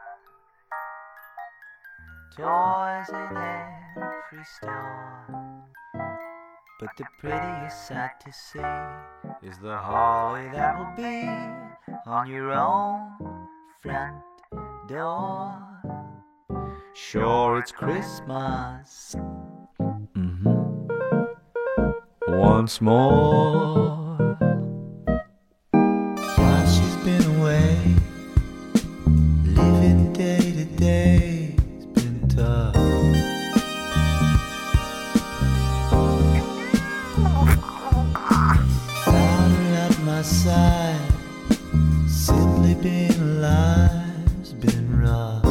Toys in every store, but the prettiest sight to see is the holly that will be on your own front door. Sure, it's Christmas once more. While she's been away, living day to day has been tough. Found her at my side, simply being alive has been rough.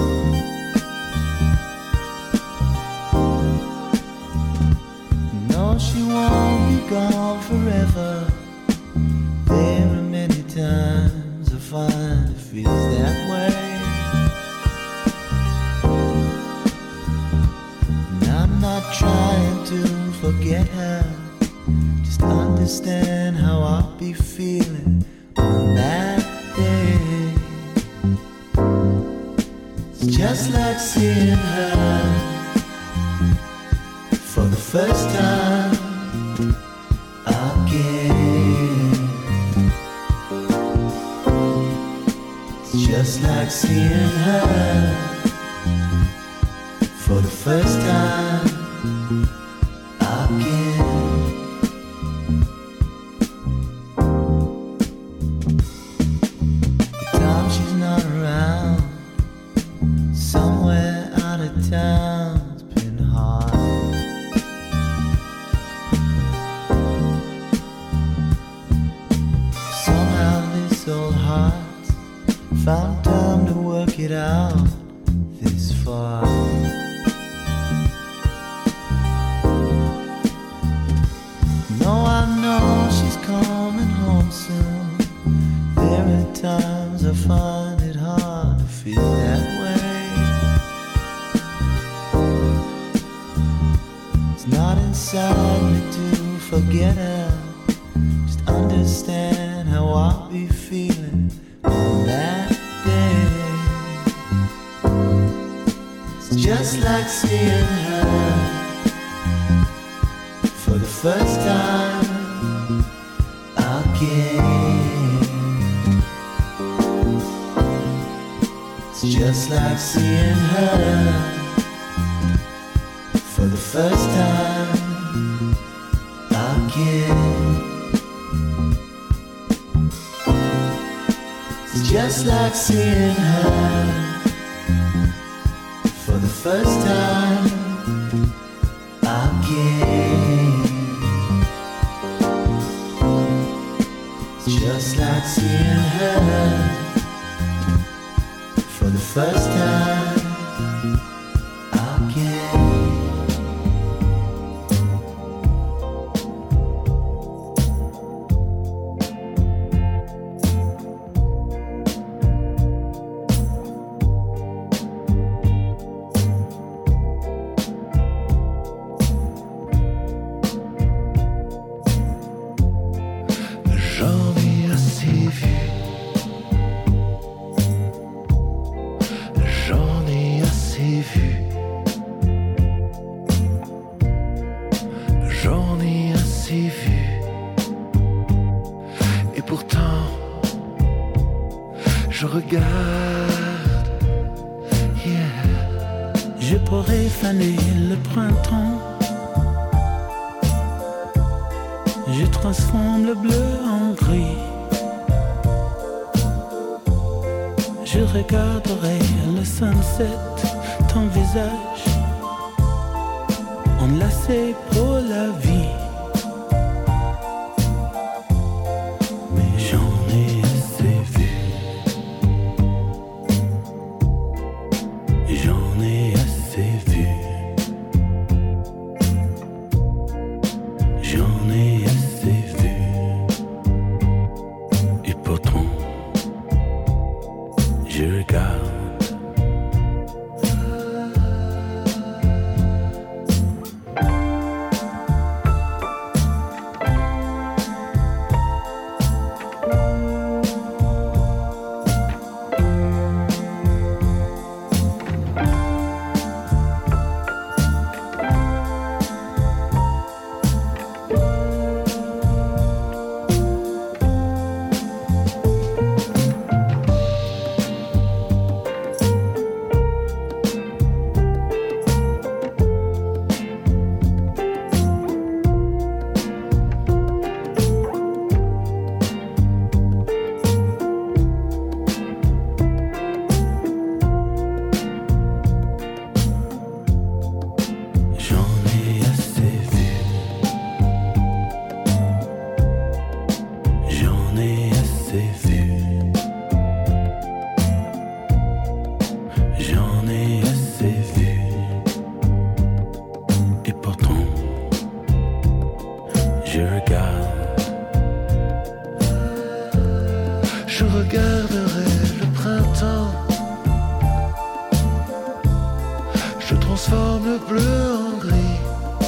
No, she won't be gone forever. There are many times I find it feels that way. And I'm not trying to forget her, just understand how I'll be feeling on that day. It's just like seeing her for the first time again. It's just like seeing her for the first time again. The time she's not around, somewhere out of town's been hard. Old hearts found time to work it out this far. No, I know she's coming home soon. There are times I find it hard to feel that way. It's not inside me to forget her, just understand how I'll be feeling on that day. It's just like seeing her for the first time again. It's just like seeing her for the first time again. Just like seeing her for the first time again. It's just like seeing her for the first time again. Je regarde, yeah. Je pourrais faner le printemps. Je transforme le bleu en gris. Je regarderai le sunset, ton visage enlacé pour la vie. Mais j'en ai assez vu. J'en ai assez vu. J'en ai assez vu. Et pourtant, je regarde. bleu en gris.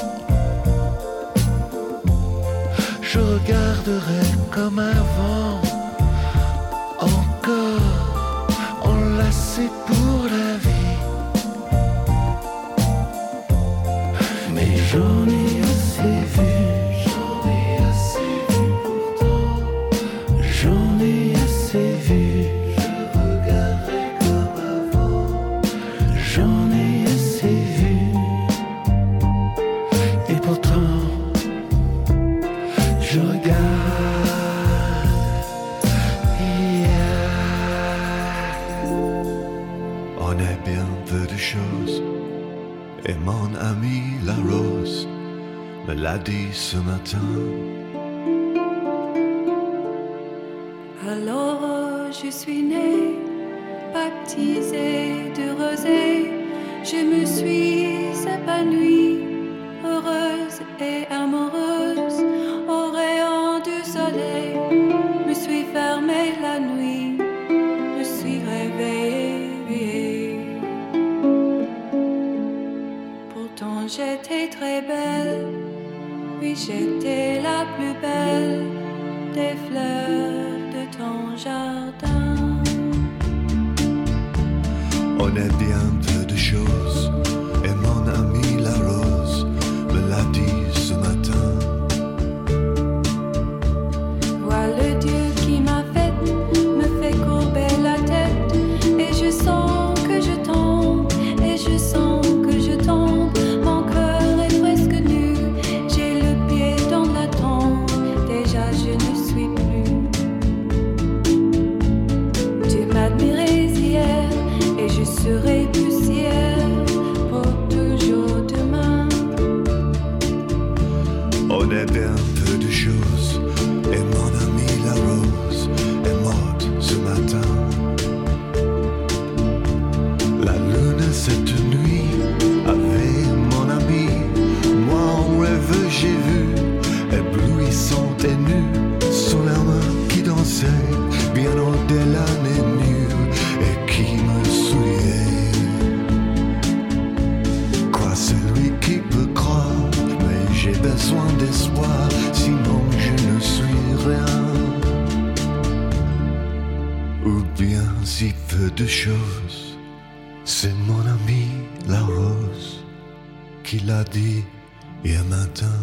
Je regarderai comme avant, encore enlacé pour la vie. Mais j'en ai assez vu, j'en ai assez vu pourtant, j'en ai assez vu. Je regarderai comme avant, j'en ai assez vu. Et pourtant je regarde, On est bien peu de choses, et mon ami la rose me l'a dit ce matin. Alors je suis née, baptisée de rosée, je me suis épanouie, heureuse et amoureuse, au rayon du soleil, me suis fermée la nuit, me suis réveillée. Pourtant j'étais très belle, oui j'étais la plus belle des fleurs de ton jardin. On est bien peu de choses, et mon ami la rose me l'a dit ce matin. Vois le Dieu qui m'a faite, me fait courber la tête, et je sens que je tombe, et je sens que je tombe. Mon cœur est presque nu, j'ai le pied dans la tombe, déjà je ne suis plus. Tu m'admirais hier, et je serai poussière pour toujours demain. On est bien peu de choses, et mon ami la rose est morte ce matin. La lune cette nuit avait mon ami, moi en rêve j'ai vu, éblouissante et nue, son âme qui dansait bien au-delà des murs et qui me souriait. Quoi, celui qui peut croire, mais j'ai besoin d'espoir, sinon je ne suis rien. Ou bien si peu de choses, c'est mon ami la rose qui l'a dit hier matin.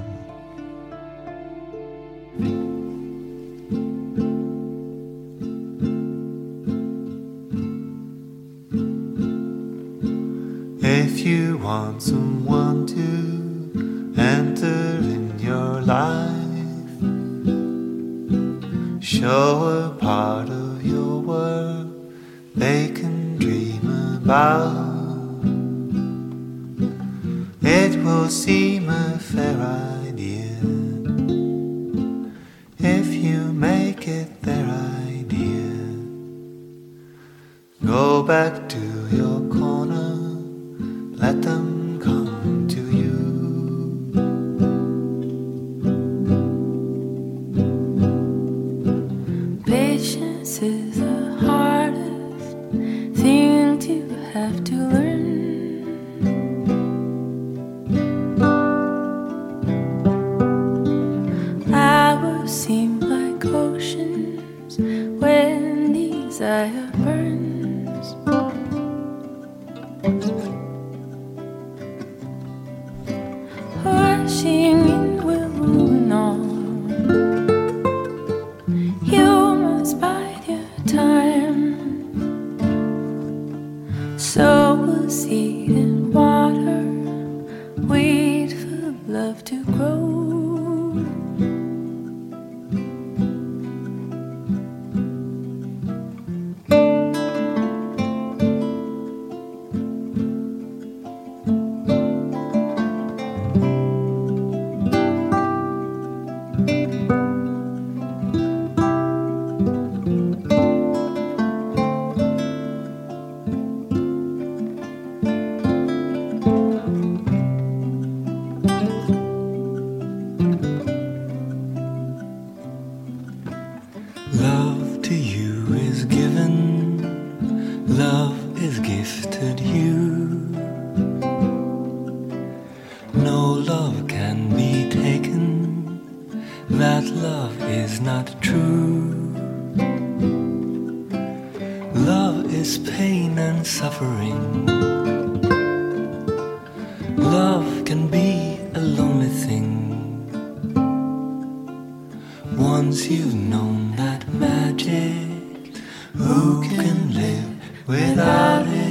If you want someone to enter in your life, show a part of your world they can dream about. It will seem a fair idea if you make it their idea. Go back to your corner, let them come to you. Patience is the hardest thing to have to learn. Hours seem like oceans when desire burns. Rushing in will ruin all. You must bide your time. Sow a seed in water, wait for love to grow. Love to you is given, love is gifted you. is not true. Love is pain and suffering. Love can be a lonely thing. Once you've known that magic, who can live without it?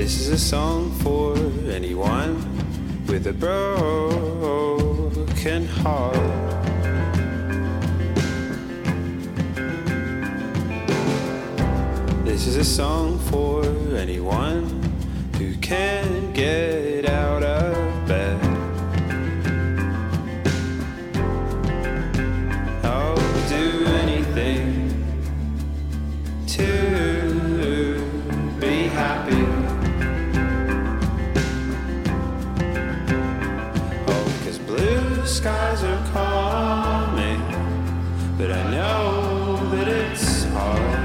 This is a song for anyone with a broken heart. This is a song for anyone who can't get out of bed. I'll do anything to be happy. Oh, 'cause blue skies are coming, but I know that it's hard.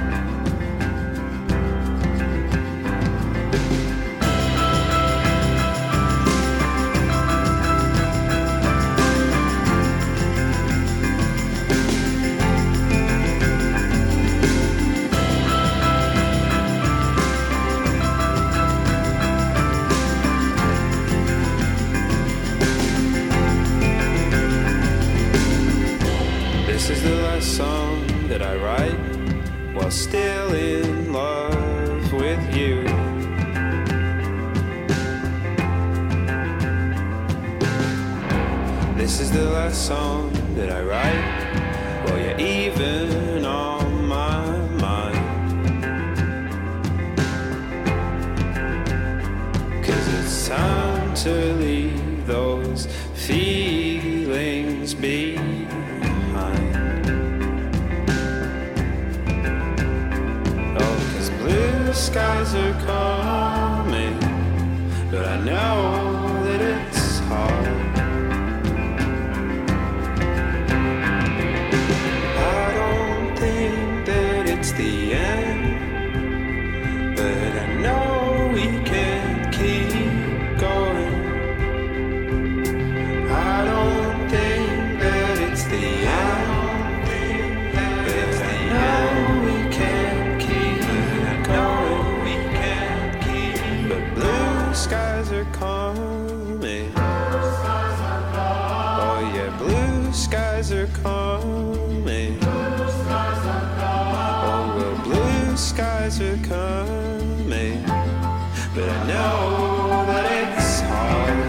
This is the last song that I write while still in love with you. This is the last song that I write while you're even on my mind. 'Cause it's time to leave those feelings behind. Oh, 'cause blue skies are coming, but I know that it's hard. I don't think that it's the end, but I know we can keep going. I don't think that it's the end, but I know we can keep going. We can keep, but blue skies are coming. Oh yeah, blue skies are coming. Oh well, blue skies are coming, but I know that it's hard.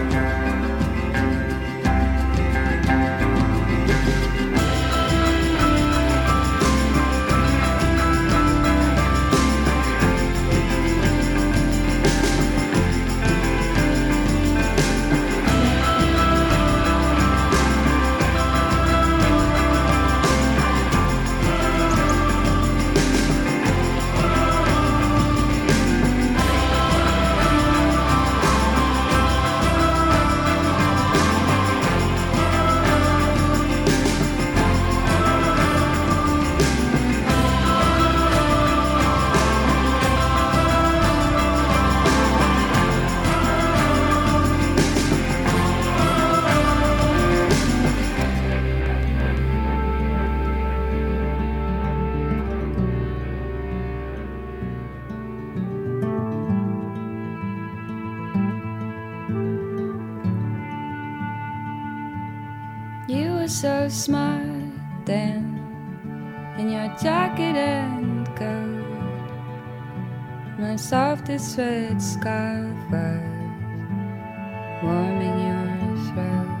You were so smart then, in your jacket and coat. My softest sweat scarf was warming your throat.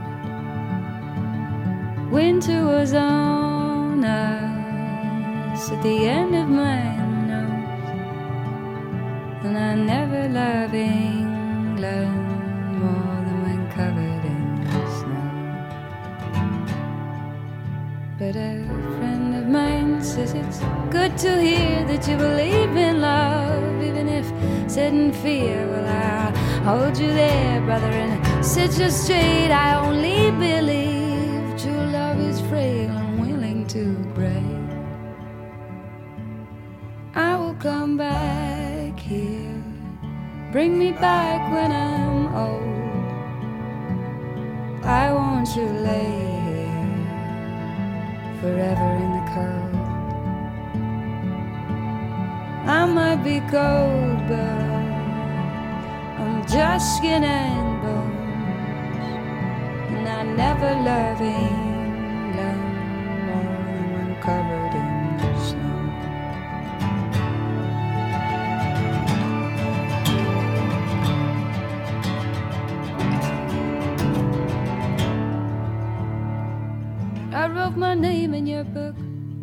Winter was on us at the end of my nose, and I never loved England more than when covered in snow. But a friend of mine says it's good to hear that you believe in love, even if set in fear. Well, I'll hold you there, brother, and set you straight. I only believe true love is frail and willing to break. I will come back here, bring me back when I'm old. I want you lay forever in the cold. I might be cold, but I'm just skin and bones, and I never love England more than when covered in snow. a book.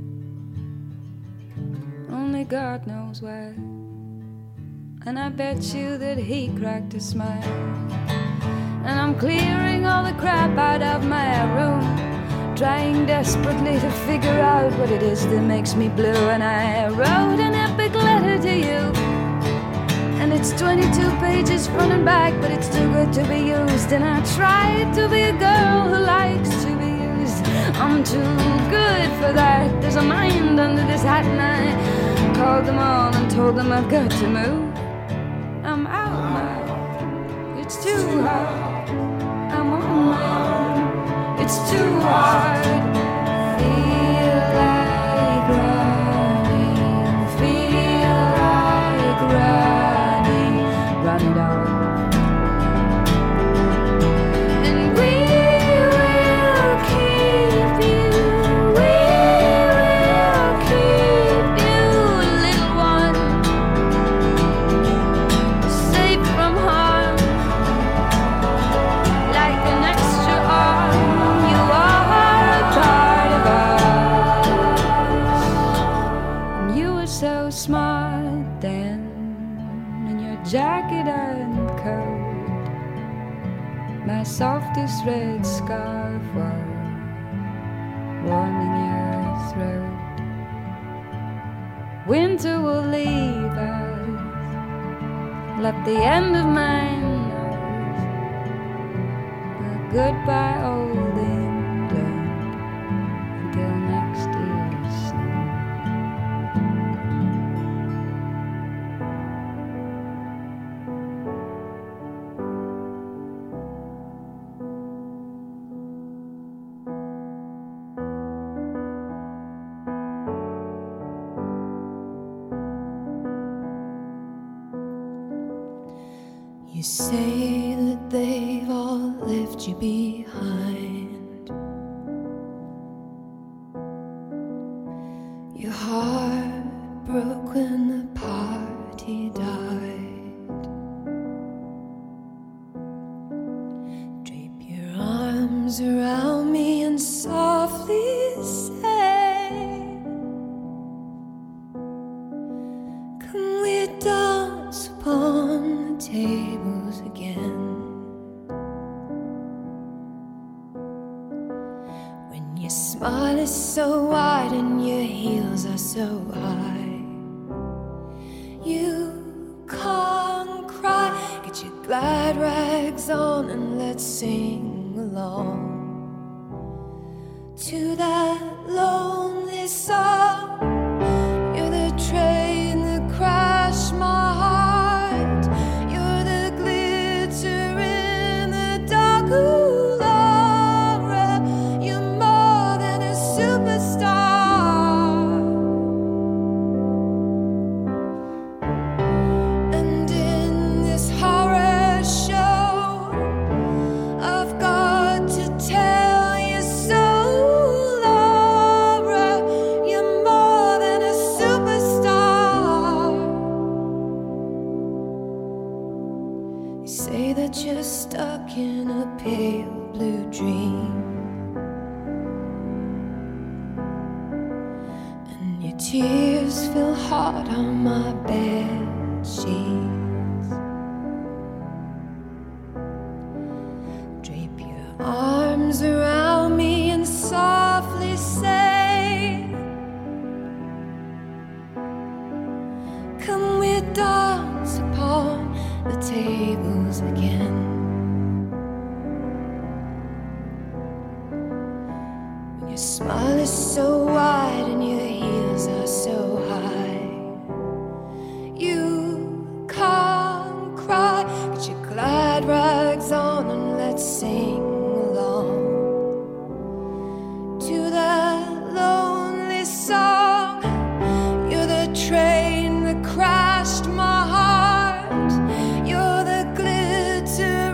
Only God knows why. And I bet you that he cracked a smile. And I'm clearing all the crap out of my room, trying desperately to figure out what it is that makes me blue. And I wrote an epic letter to you, and it's 22 pages front and back, but it's too good to be used. And I tried to be a girl who likes to be used. I'm too good for that. There's a mind under this hat. And I called them all and told them I've got to move. I'm out now. It's too hard. I'm on my own. It's too hard. Feel like running. Feel like running. Run it all. And we will keep you. We will keep you, little one, safe from harm. Like an extra arm, you are a part of us. And you were so smart then, in your jacket and coat. My softest red scarf was warming your throat. Winter will leave us, left the end of my nose. But goodbye, old England, until next year's snow. You say that they've all left you behind. Your heart broke when the party died. Drape your arms around me and softly say, can we dance upon the tables again? When your smile is so wide and your heels are so high, you can't cry. Get your glad rags on and let's sing along to that lonely song. You're the train that crashed my heart. You're the glitter in the dark. Ooh, Laura, you're more than a superstar. And in this horror show, I've got to tell you so, Laura, you're more than a superstar. You say that you're stuck in a pale blue dream, and your tears feel hard on my bed sheets. Drape your arms around me and softly say, can we dance upon the tables again? When your smile is so wide and your heels are so high, you can't cry. Get your glad rags on and let's sing along to that lonely song. You're the train that crashed my heart. You're the glitter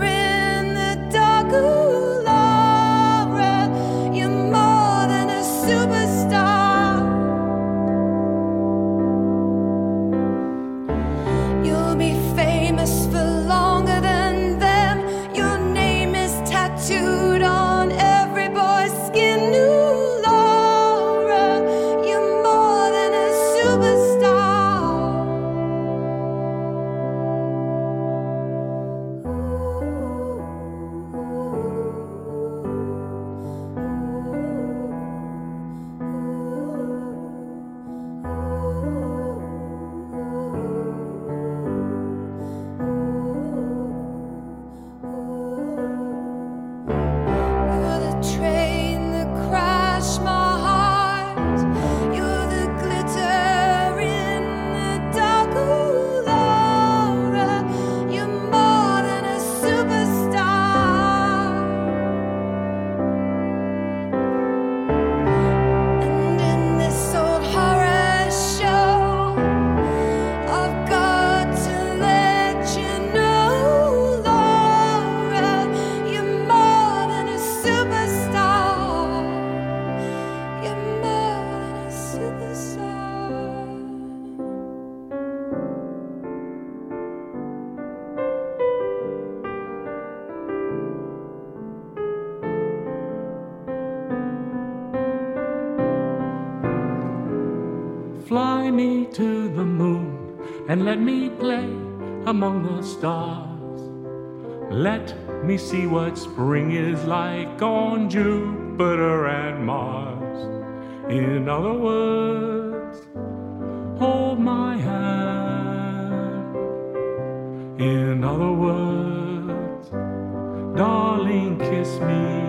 Fly me to the moon and let me play among the stars. Let me see what spring is like on Jupiter and Mars. In other words, hold my hand. In other words, darling, kiss me.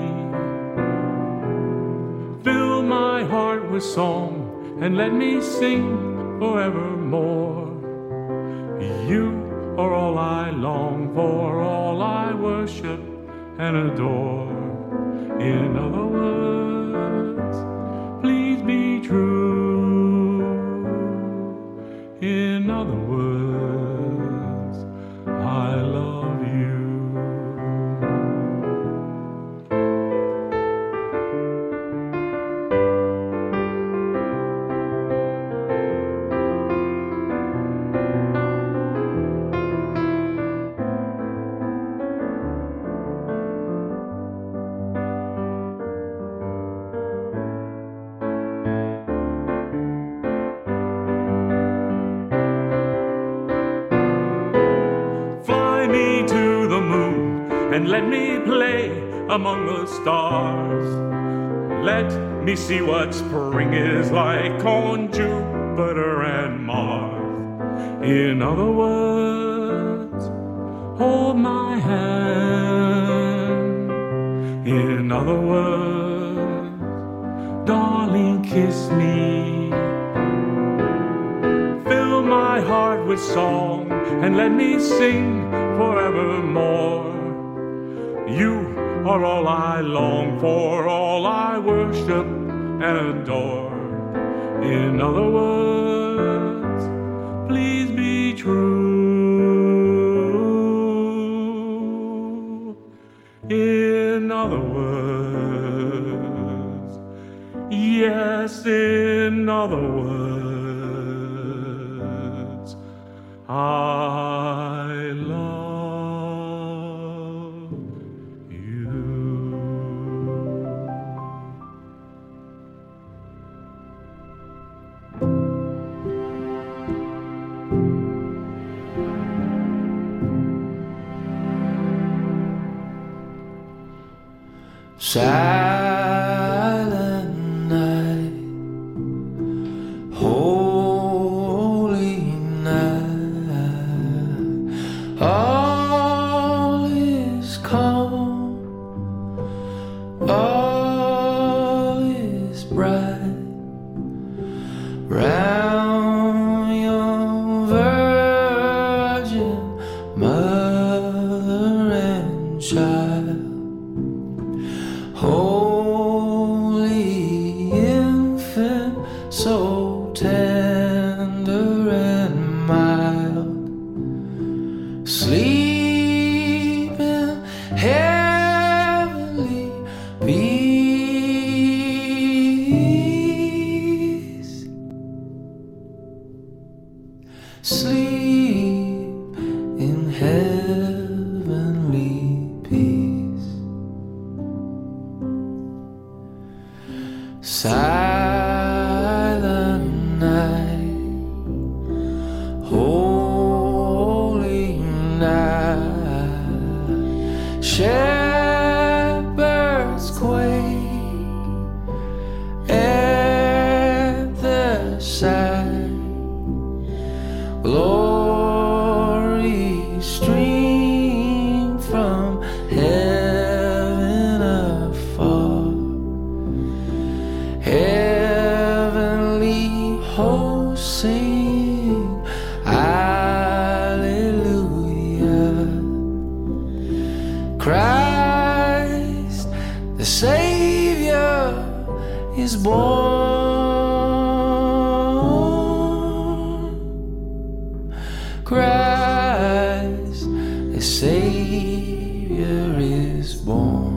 Fill my heart with song and let me sing forevermore. You are all I long for, all I worship and adore. In other words, please be true. In other words, I love you. And let me play among the stars. Let me see what spring is like on Jupiter and Mars. In other words, hold my hand. In other words, darling, kiss me. Fill my heart with song and let me sing forevermore. You are all I long for, all I worship and adore. In other words, please be true. In other words, yes, in other words, I love. Silent night, holy night, all is calm, all is bright, round your virgin mother and child. Holy infant, so tender and mild, sleep in heavenly peace. Sleep in heavenly peace. Silent night, holy night, shepherds quake at the sight, glory stream from heaven afar. Heavenly hosts sing hallelujah. Christ the Savior is born. Christ the Savior is born.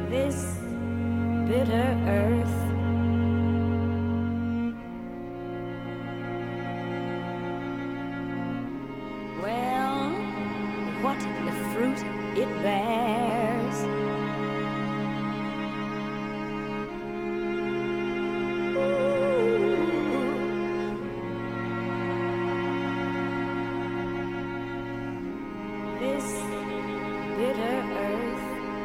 this bitter earth. Well, what the fruit it bears. This bitter earth.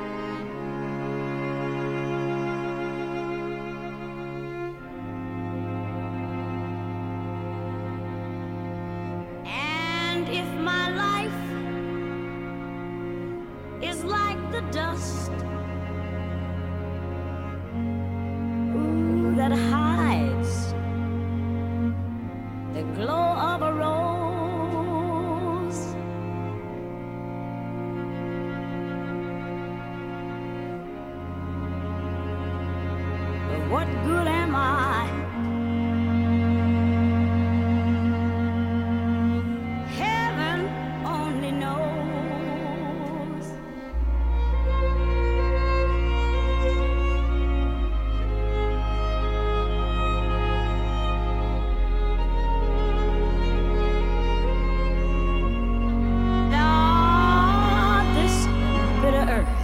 And if my life is like the dust, ooh, that hides the glow of a rose, but what good am I? Heaven only knows. Ah, this bitter earth.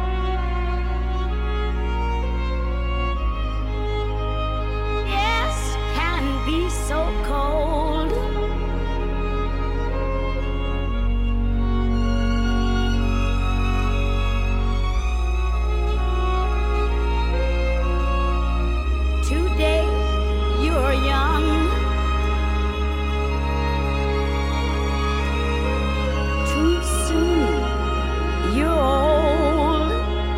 Yes, can be so cold. Today you're young, too soon you're old.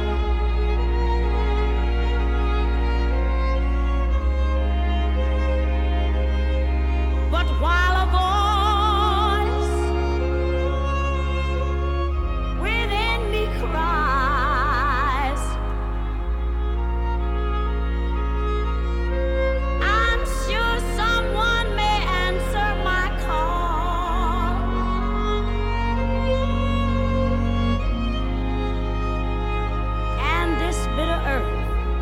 But while a voice within me cries, I'm sure someone may answer my call. And this bitter earth,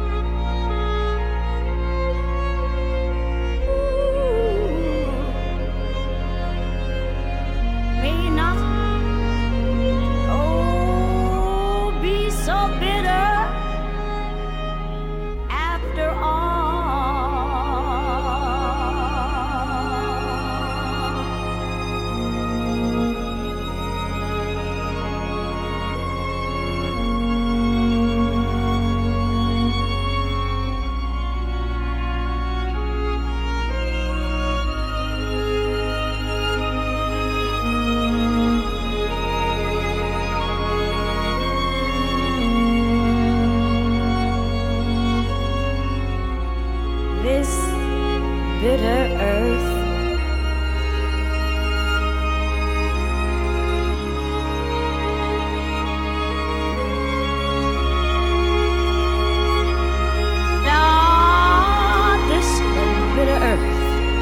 may not, oh, be so bitter after all. This bitter earth. Ah, this bitter earth.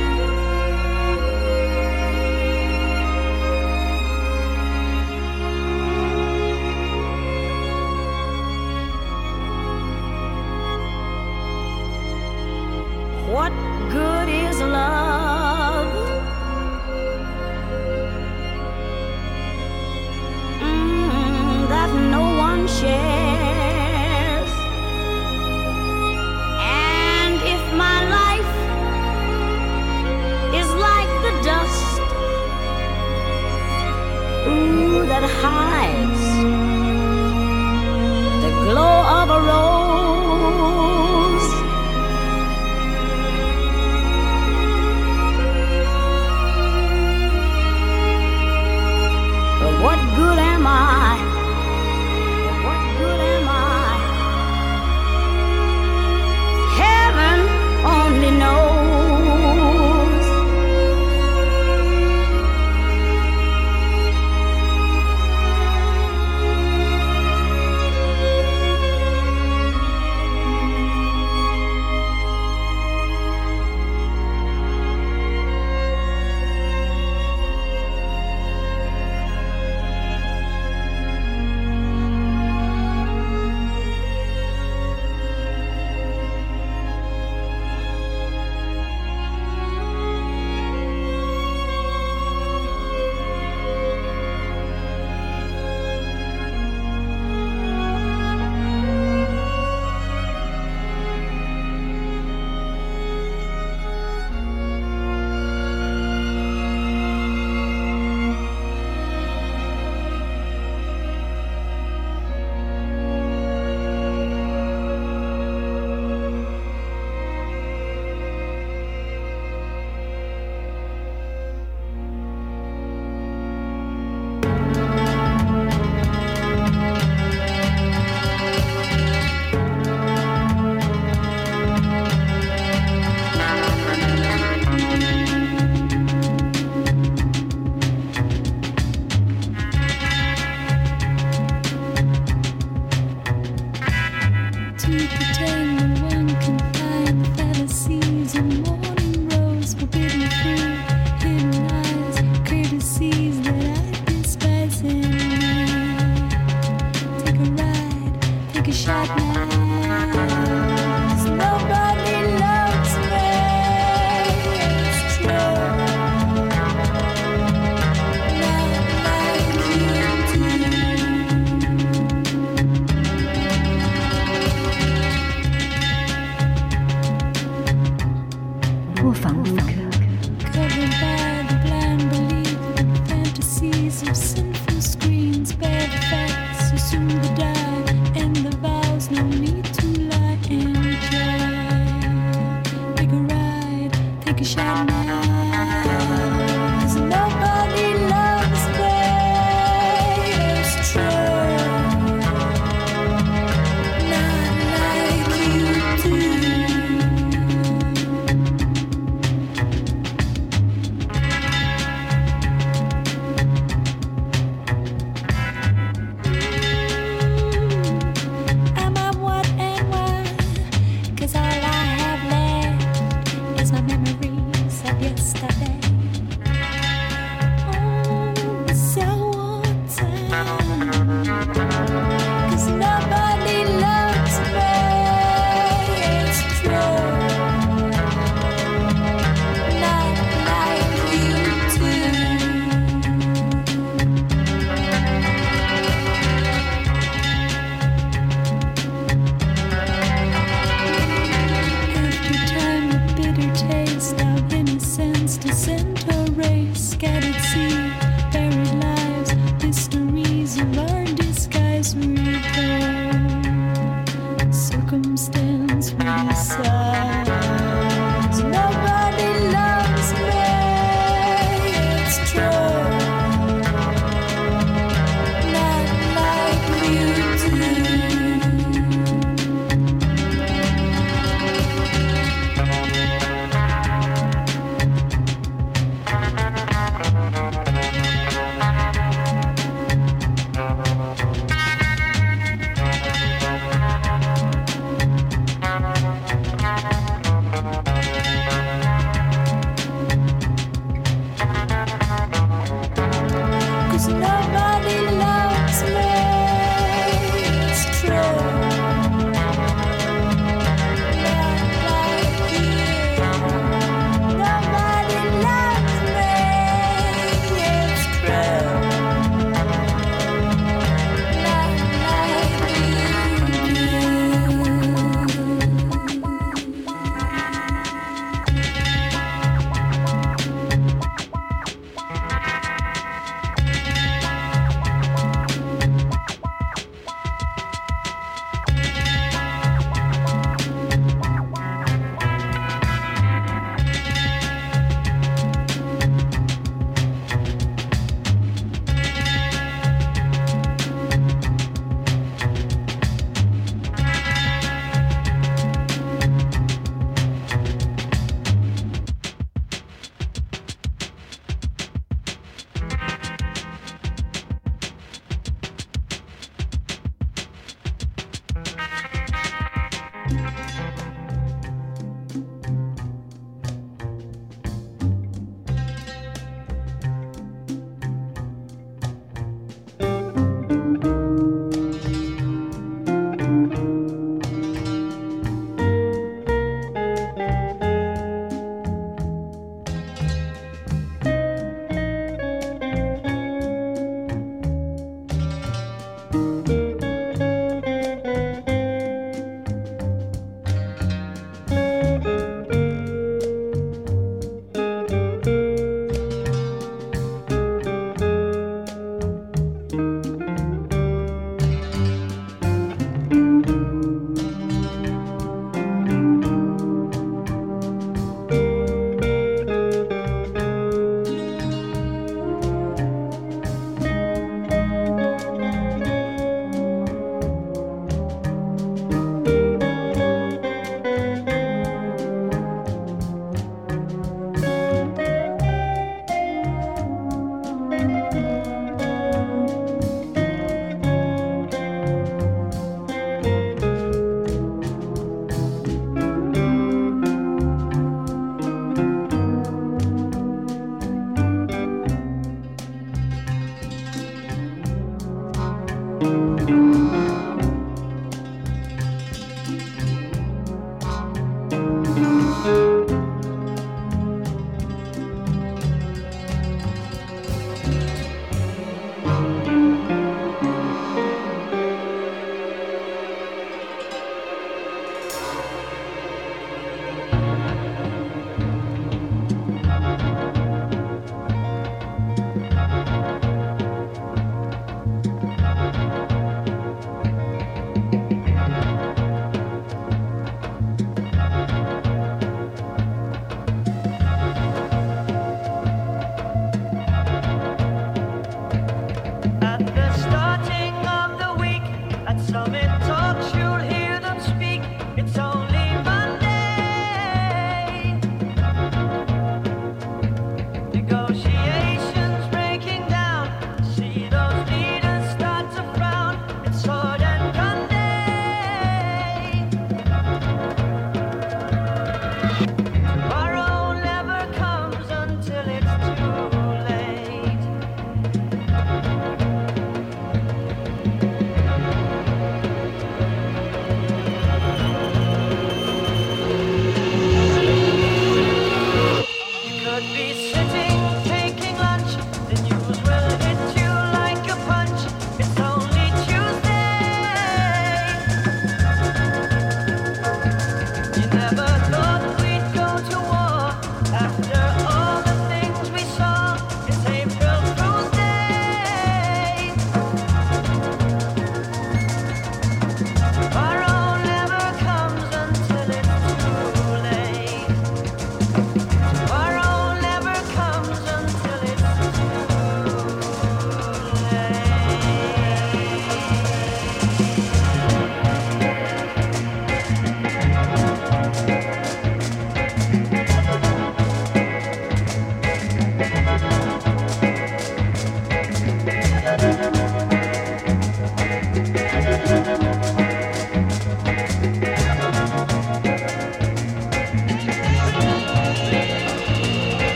What good is love? That no one shares. And if my life is like the dust, ooh, that hides the glow of a rose, but what good am I? What good am I? Heaven only knows. fantasies that I despise in me. Take a ride, take a shot now. 'Cause nobody loves me. It's true. Not like you do. 卧房录课。 Covered by the blind belief that fantasies of sinful screens bear the facts, assume the die, and the vows no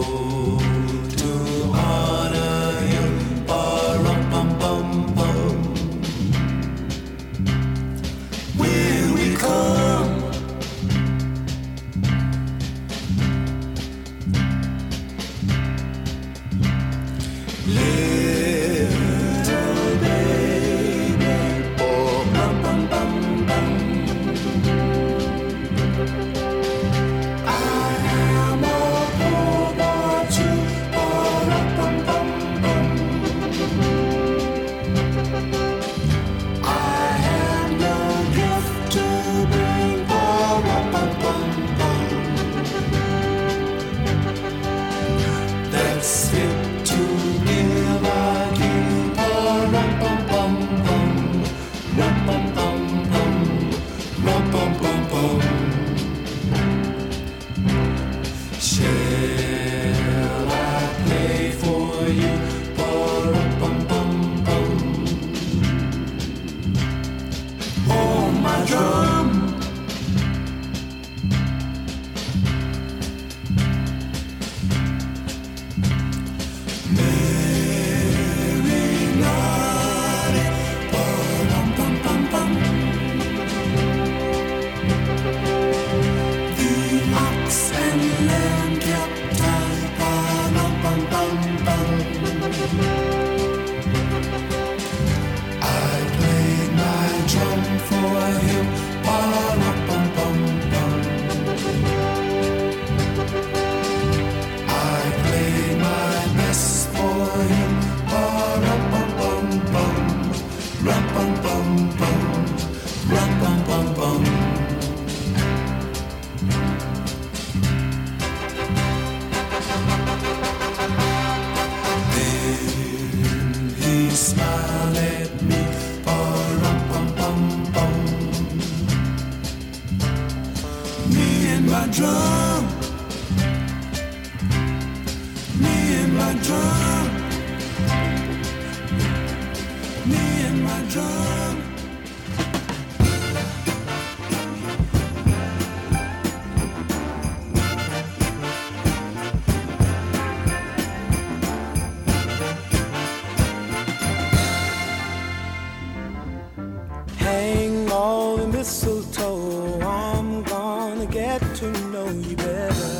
Hang all the mistletoe, I'm gonna get to know you better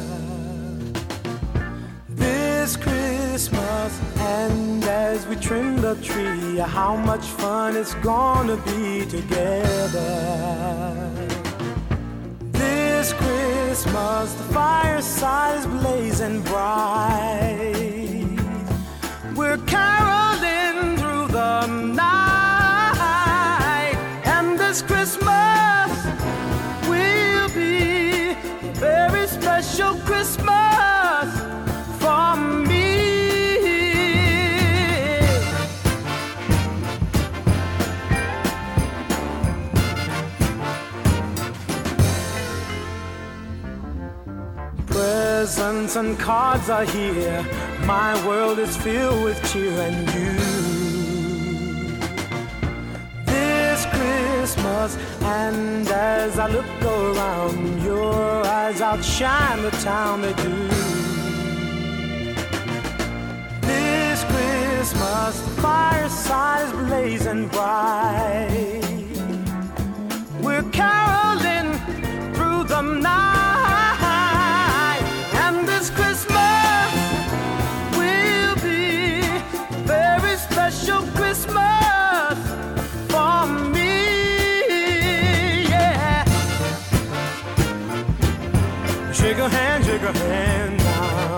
this Christmas. And as we trim the tree, how much fun it's gonna be together this Christmas. The fireside is blazing bright, we're caroling through the night. This Christmas will be a very special Christmas for me. Presents and cards are here, my world is filled with cheer and you. Christmas, and as I look around, your eyes outshine the town they do. This Christmas, the fireside is blazing bright, we're caroling through the night. And this Christmas will be a very special Christmas for me. Shake a hand now.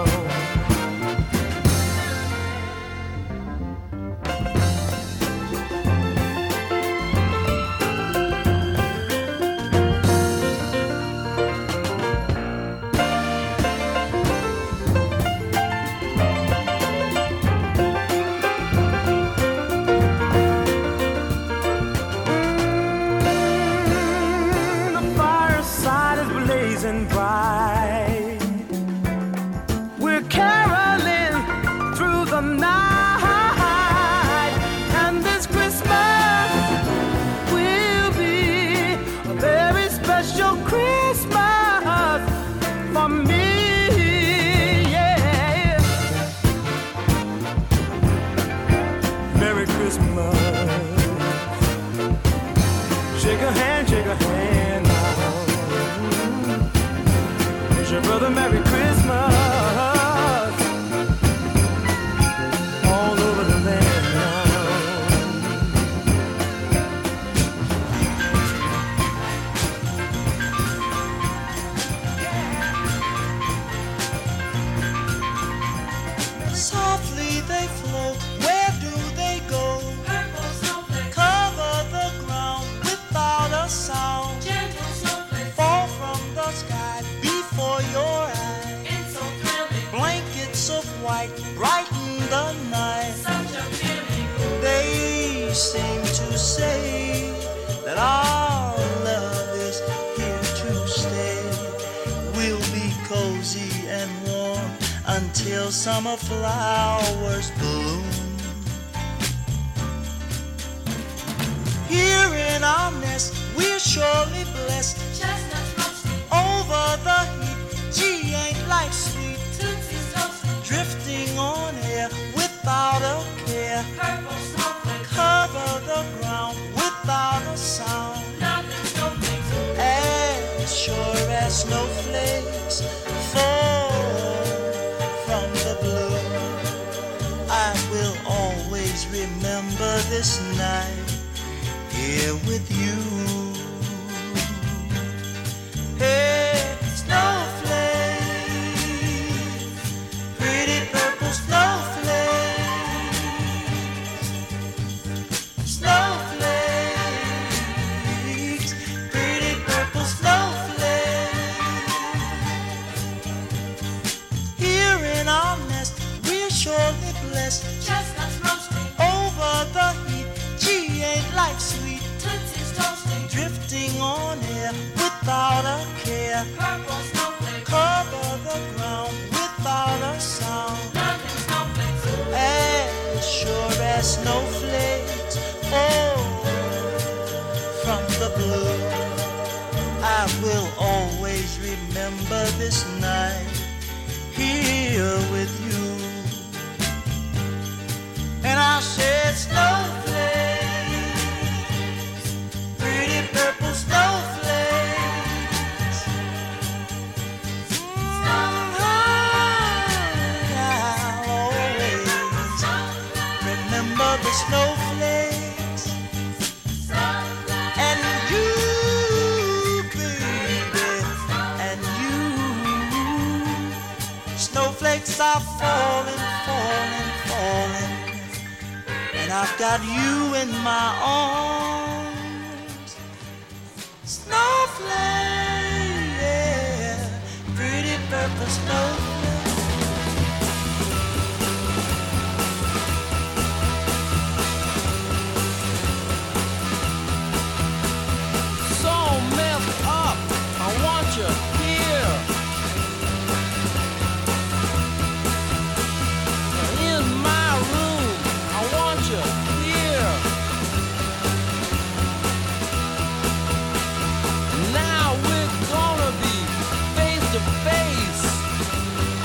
The fireside is blazing bright, we're caroling through the night. And this Christmas will be a very special Christmas for me, yeah. your brother Merry Christmas all over the land now. Softly they float, where do they go? Cover the ground without a sound. Fall from the sky before your eyes. Blankets of white brighten the night. They seem to say that our love is here to stay. We'll be cozy and warm until summer flowers bloom. Here in our nest, we're surely blessed. Over the heat, gee, ain't life sweet. Drifting on air without a care. Cover the ground without a sound. As sure as snowflakes fall from the blue, I will always remember this night here with you. Hey, snowflakes, pretty purple snowflakes, snowflakes, pretty purple snowflakes. Here in our nest, we're surely blessed. Chestnuts roasting over the heat. Gee, ain't life sweet? Tootsie's toasting, drifting on air without a care. Purple snowflakes cover the ground without a sound. Nothing snowflakes, as sure as snowflakes fall from the blue. I will always remember this night here with you. And I said snowflakes, pretty purple snowflakes. I'll always remember the snowflakes. And you, baby, and you. Snowflakes are falling, falling, falling. And I've got you in my arms. Snowflake, yeah, pretty purple snowflake. So messed up, I want you here. In my room, I want you here. Now we're gonna be face to face.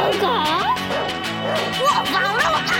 狗，我放了啊！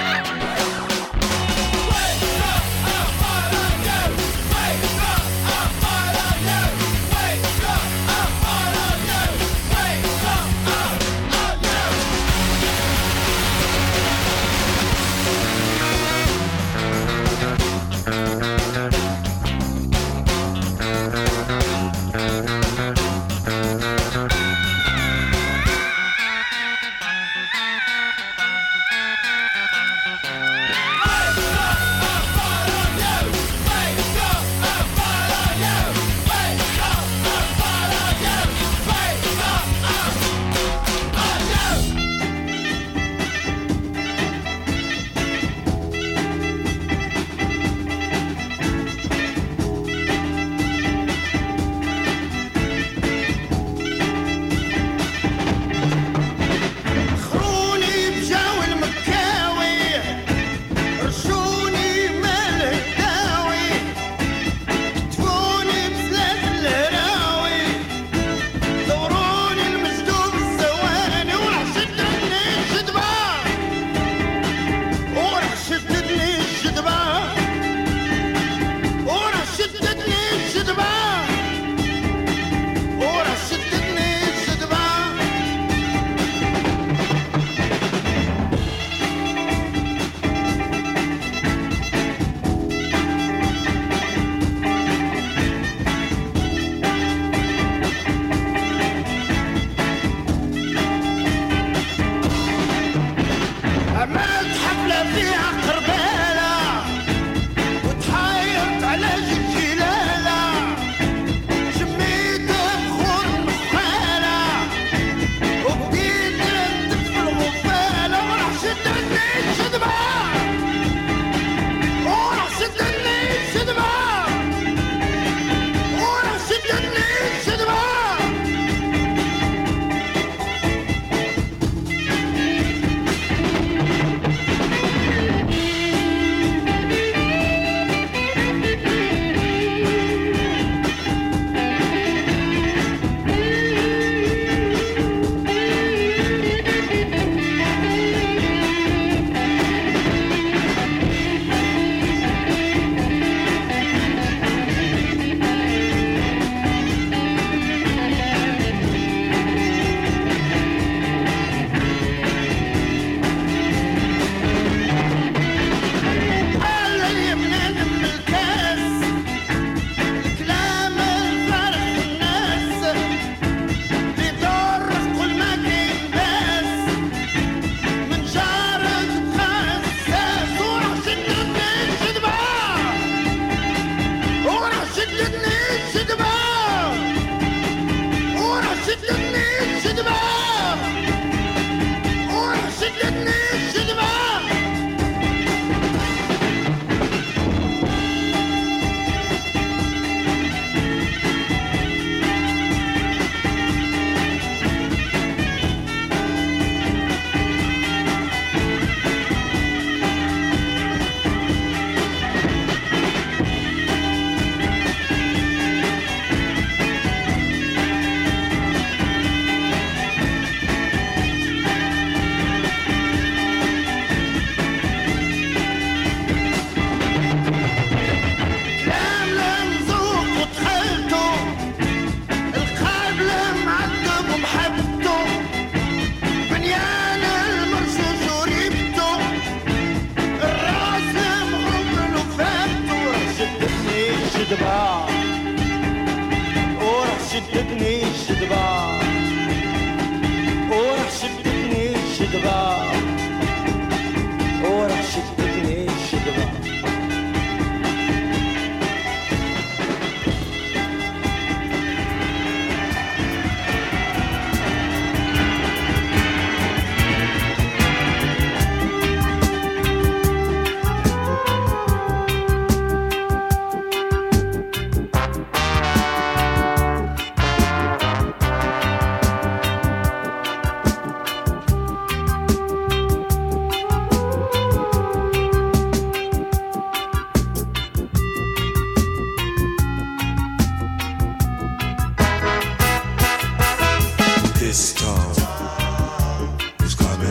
This storm is coming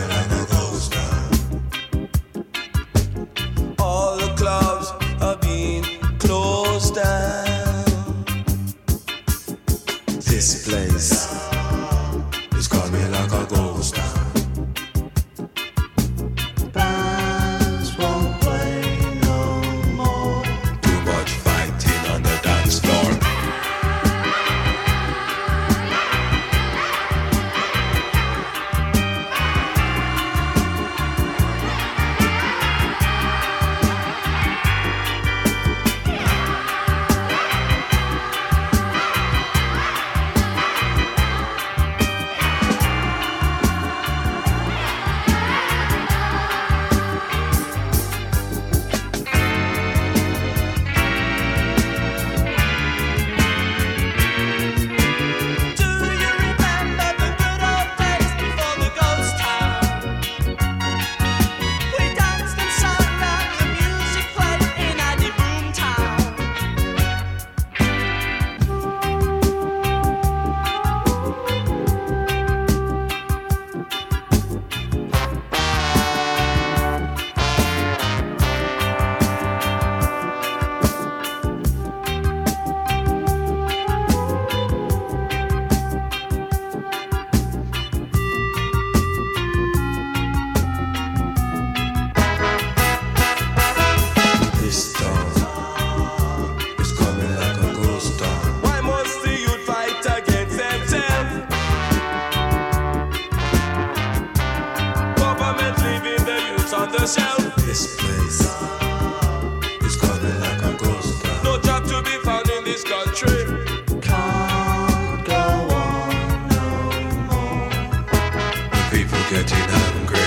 This place is coming like a ghost town. No job to be found in this country. Can't go on no more. People getting hungry.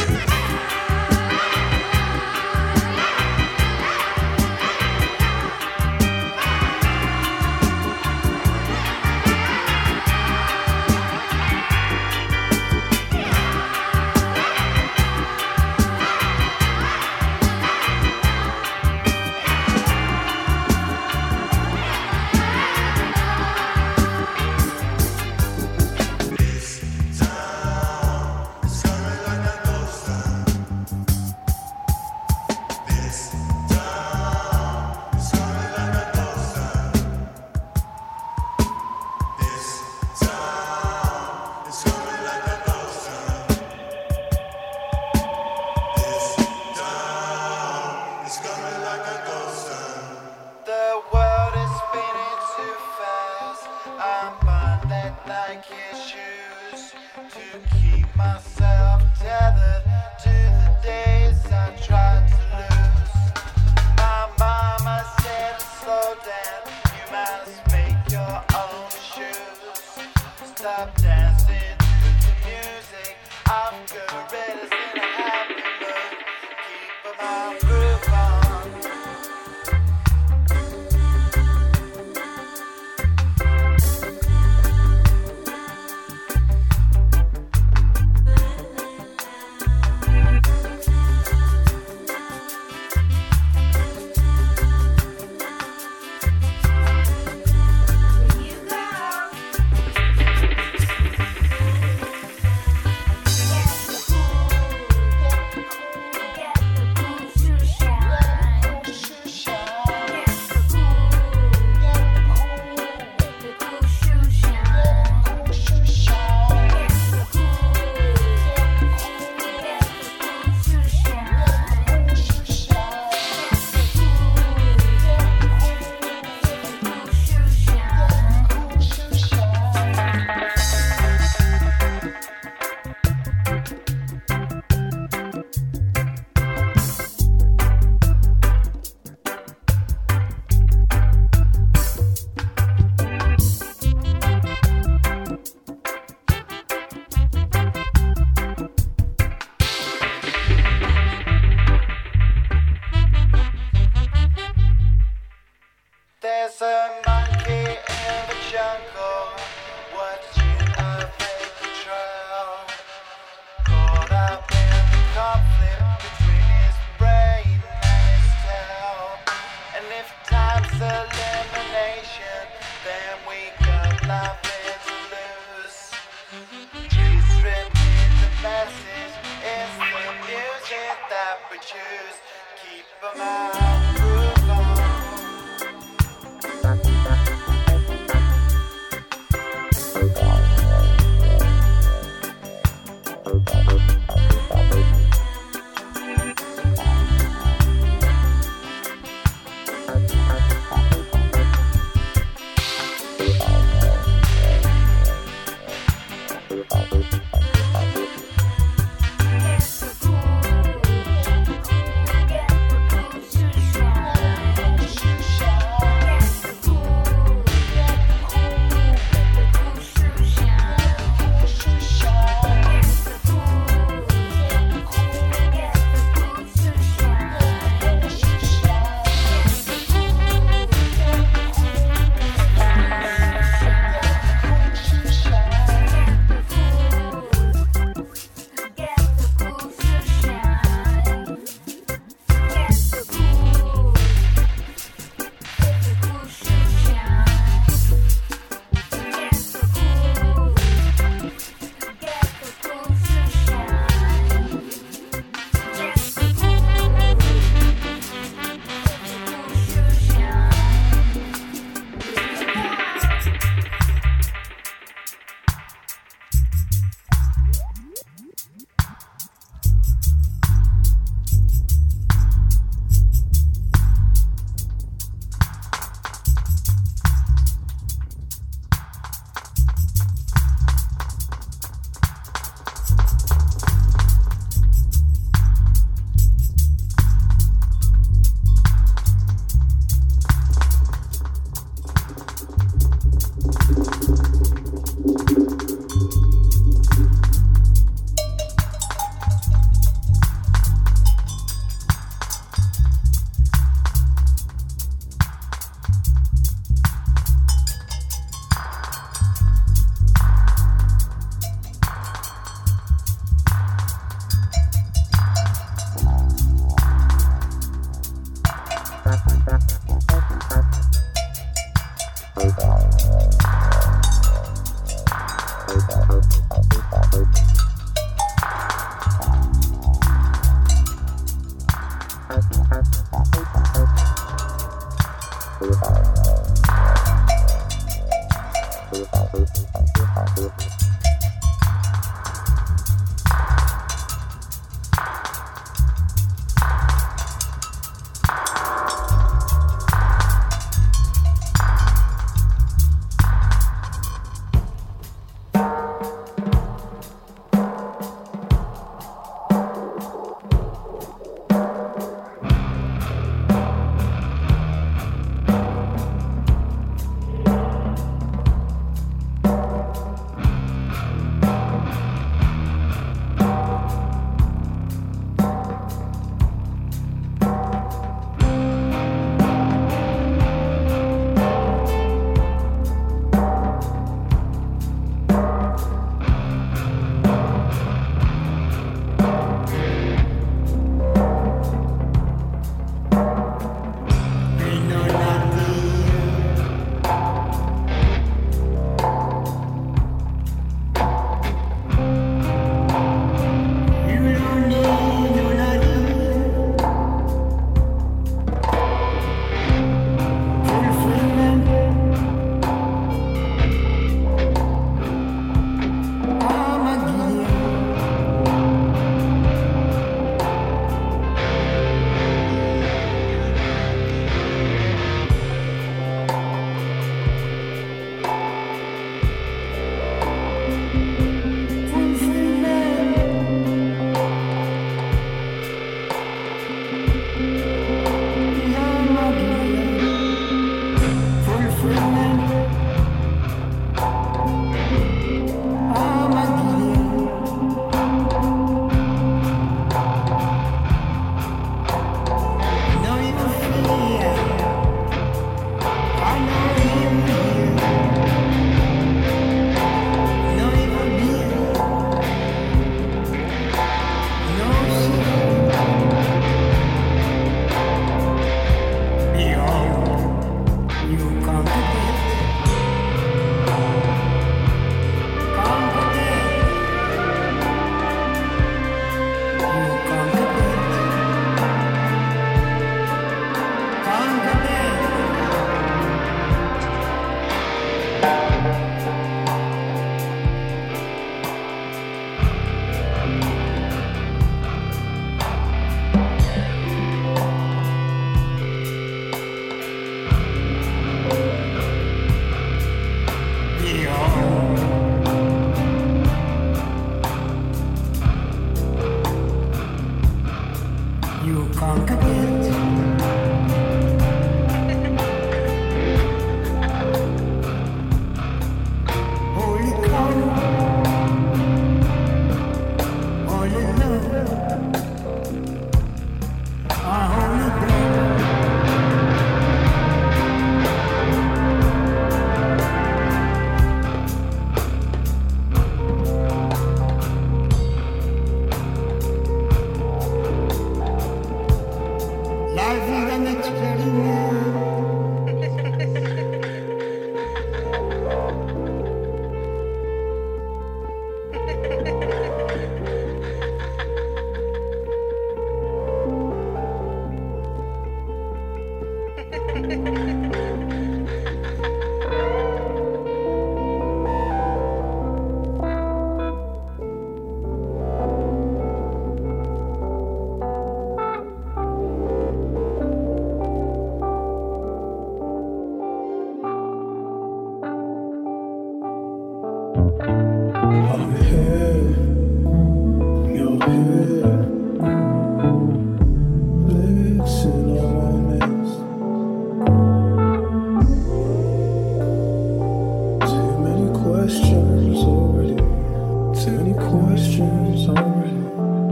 questions already.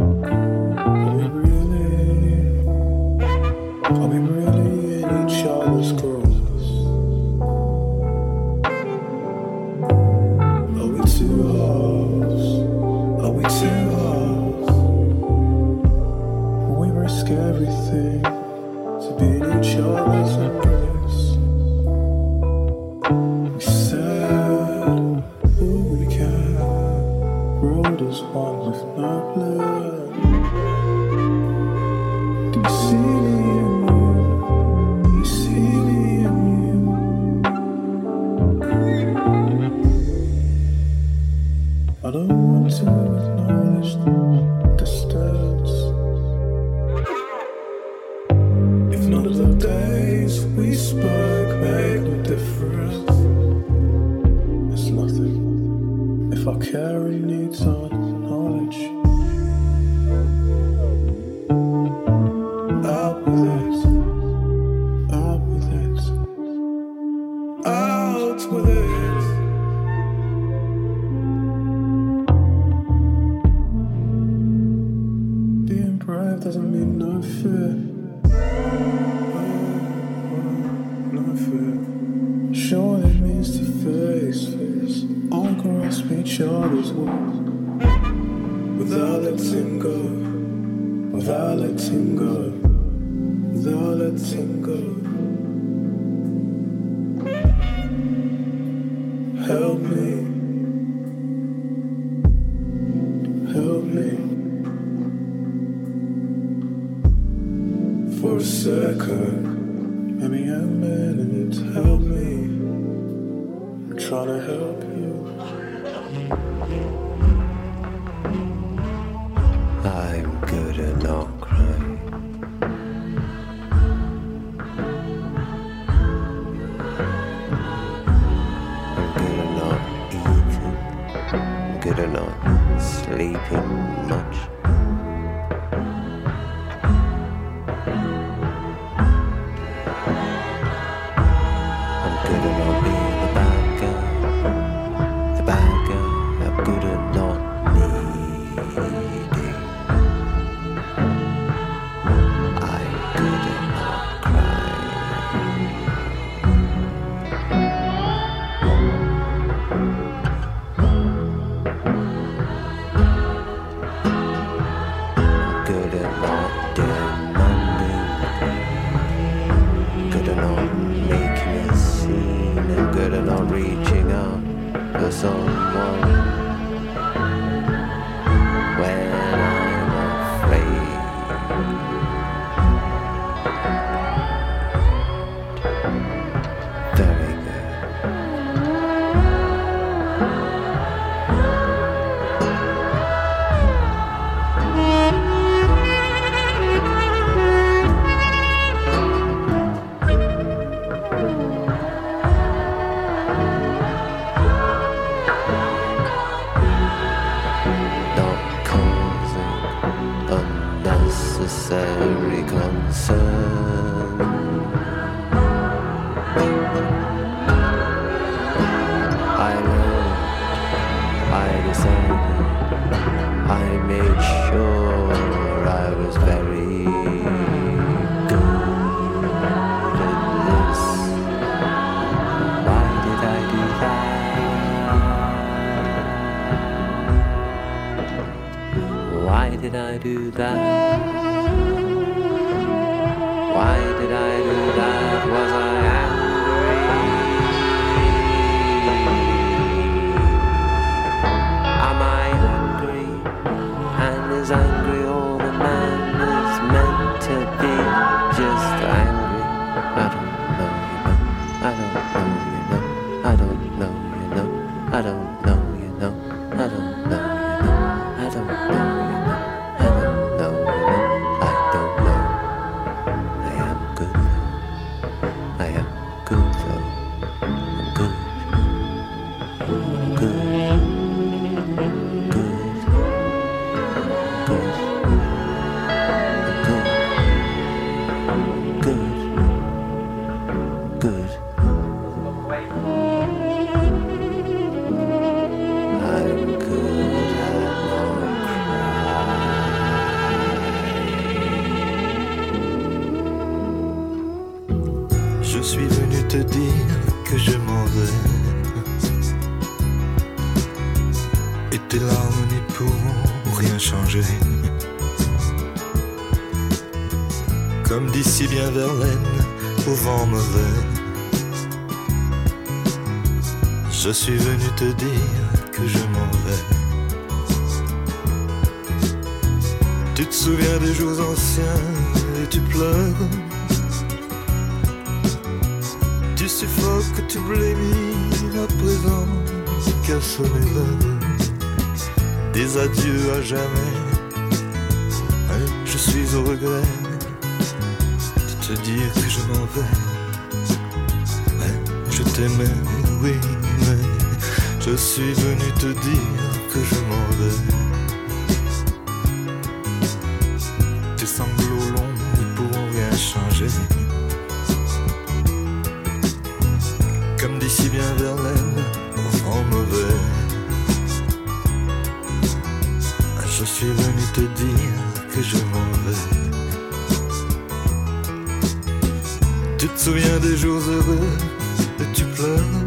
Are we really in each other's growth? Are we two halves? Are we two halves? We risk everything to be in each other's embrace. We said all we can, rolled as one with no blood. Do you see me in you? Do you see me in you? I don't want to acknowledge the distance. If none of the days we spoke made no difference, it's nothing. If our caring needs acknowledge, out with it, out with it, out with it. Being brave doesn't mean no fear. No fear. Sure, it means to face all grasp each other's words without letting go, without letting go, without letting go. Help me, help me. For a second, maybe I'm mad and it's help me. I'm trying to help you. I'm good at not crying. I'm good at not eating. I'm good at not sleeping much. I'm good at not being the bad guy. The bad guy. I'm good at not needing. I'm good at not crying. I'm good at not demanding. Good at not making a scene. I'm good at not reaching out for someone when I'm afraid. Very good. Not causing unnecessary concern. I learned, I decided, I made sure I was very good at this. Why did I do that? Why did I do that? Why did I do that? Was I angry? Am I angry? And is angry all the man is meant to be? Just angry? I don't know, you know. I don't know, you know. I don't know, you know. I don't know, you know. I don't know, you know. I don't know, you know. I don't know, you know. I don't know. I am good now. suis venu te dire que je m'en vais. Et tes larmes n'y pourront rien changer. Comme dit si bien Verlaine, au vent mauvais. Je suis venu te dire que je m'en vais. Tu te souviens des jours anciens et tu pleures. Tu suffoques, tu blémis à présent. Quel sommet l'heure. Des adieux à jamais. Je suis au regret de te dire que je m'en vais. Je t'aimais, oui, mais je suis venu te dire que je m'en vais. Tes sanglots longs ne pourront rien changer. Comme dit si bien Verlaine, au vent mauvais. Je suis venu te dire que je m'en vais. Tu te souviens des jours heureux et tu pleures.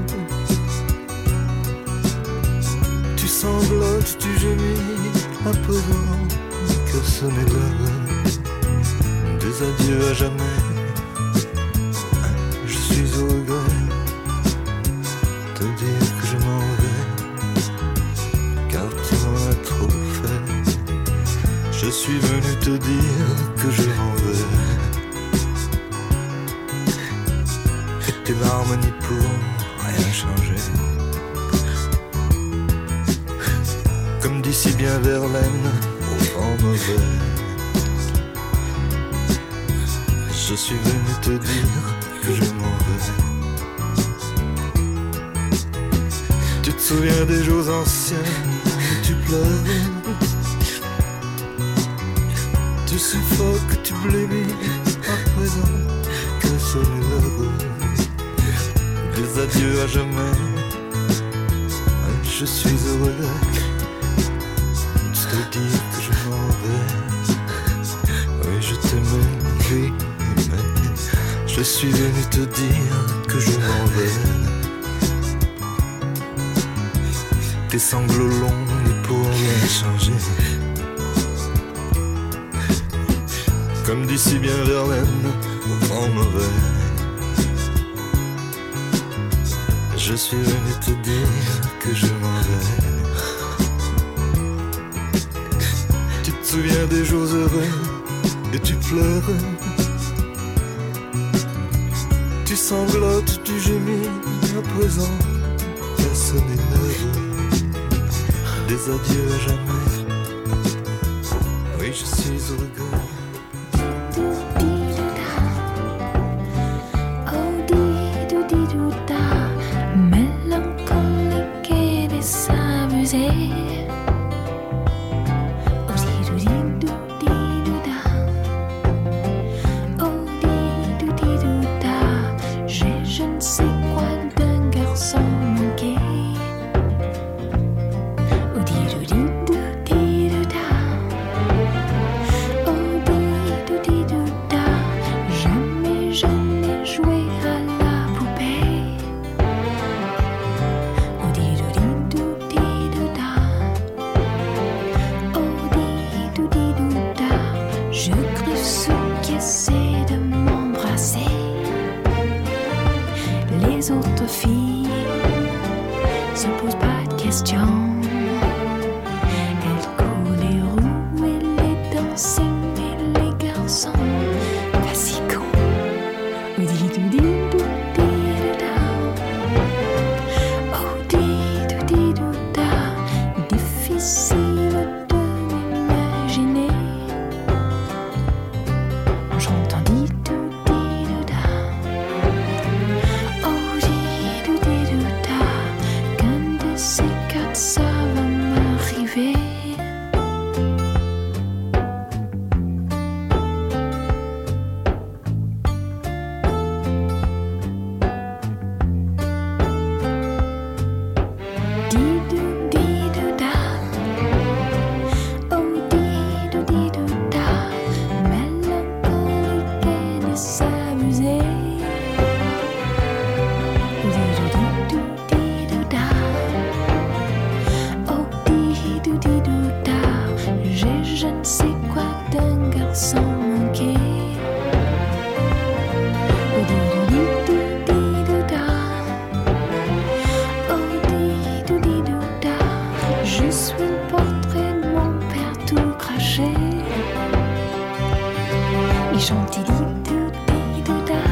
Tu sanglotes, tu gémis à présent que sonne l'heure. Des adieux à jamais. Je suis au regret de te dire que je m'en vais. Car tu m'en as trop fait. Je suis venu te dire que je m'en vais. Et tes larmes n'y pourront rien changer. Comme dit si bien Verlaine, au vent mauvais. Je suis venu te dire que je m'en vais. Tu te souviens des jours anciens et tu pleures. Tu suffoques, tu blémis à présent. Que sonne l'heure. Des adieux à jamais. Je suis heureux de te dire que je m'en vais. Oui, je t'aimais, oui, mais je suis venu te dire que je m'en vais. Tes sanglots longs ne pourront rien changer. Comme dit si bien Verlaine, au vent mauvais. Je suis venu te dire que je m'en vais. Tu te souviens des jours heureux et tu pleures. Tu sanglotes, tu gémis à présent. Personne n'est l'heure. Des adieux à jamais. Oui, je suis au regret. Oh, chantait di-dou-di-dou-da.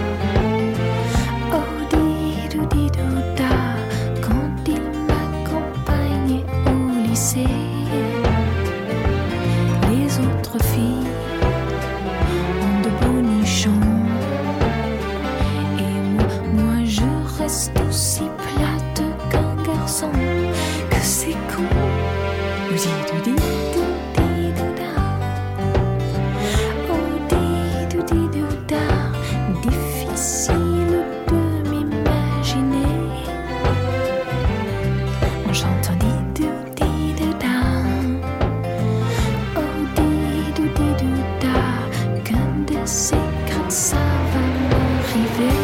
Oh di-dou-di-dou-da. Quand il m'accompagnait au lycée, les autres filles ont de beaux nichons. Et moi je reste aussi plate qu'un garçon. Que c'est con. Oh di-dou-di-dou-di-dou-da. Oh di-dou-di-dou-da. Difficile de m'imaginer en chantant di-dou-di-dou-da. Oh di-dou-di-dou-da. Qu'un de ces quatre ça va m'arriver.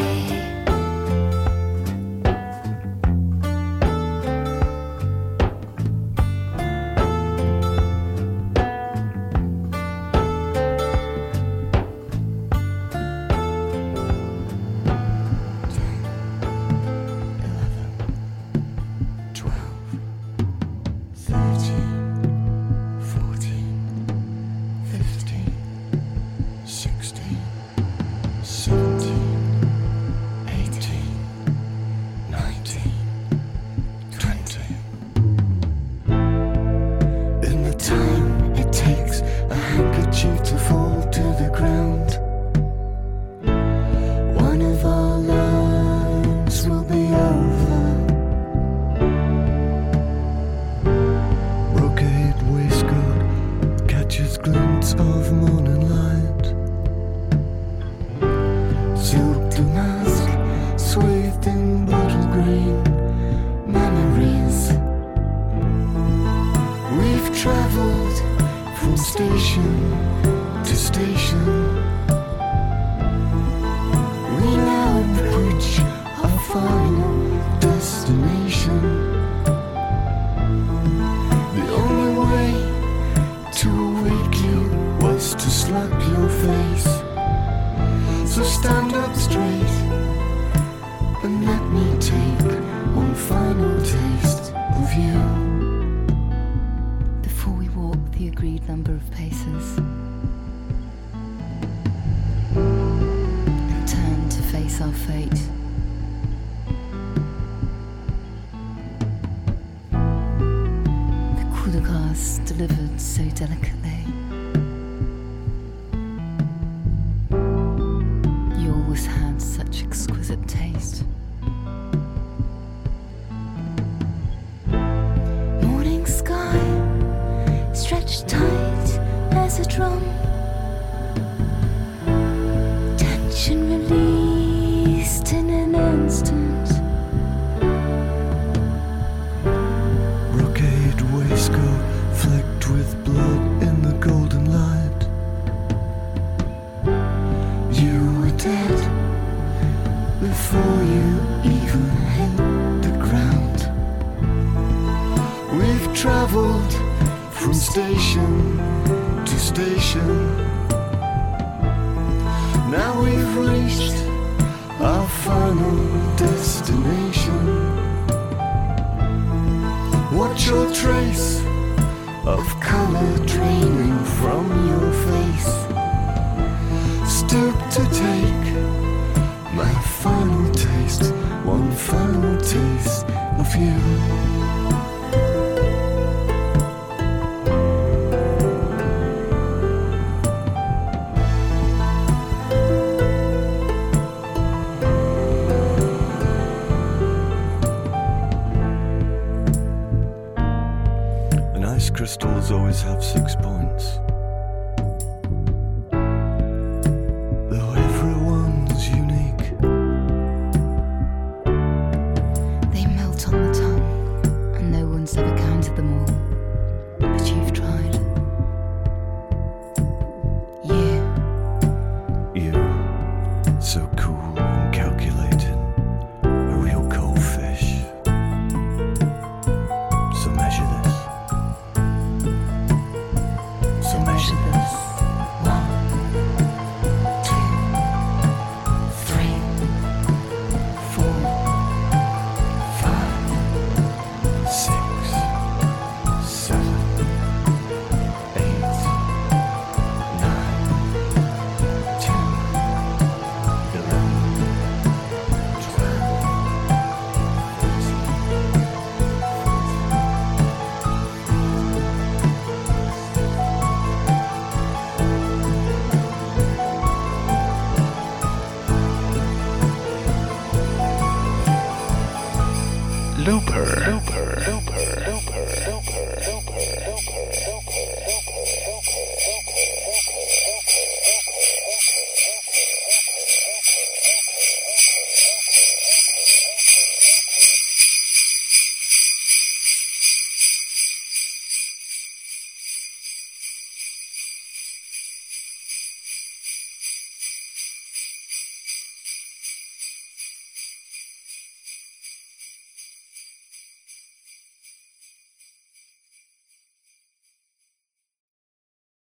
Delivered so delicately. You always had such exquisite taste. Morning sky stretched tight as a drum. Tension released in an instant. Brocade waistcoat flecked with blood in the golden light. You were dead before you even hit the ground. We've traveled from station to station. Now we've reached our final destination. Watch your trace of color draining from your face. Stoop to take my final taste, one final taste of you. Crystals always have 6 points.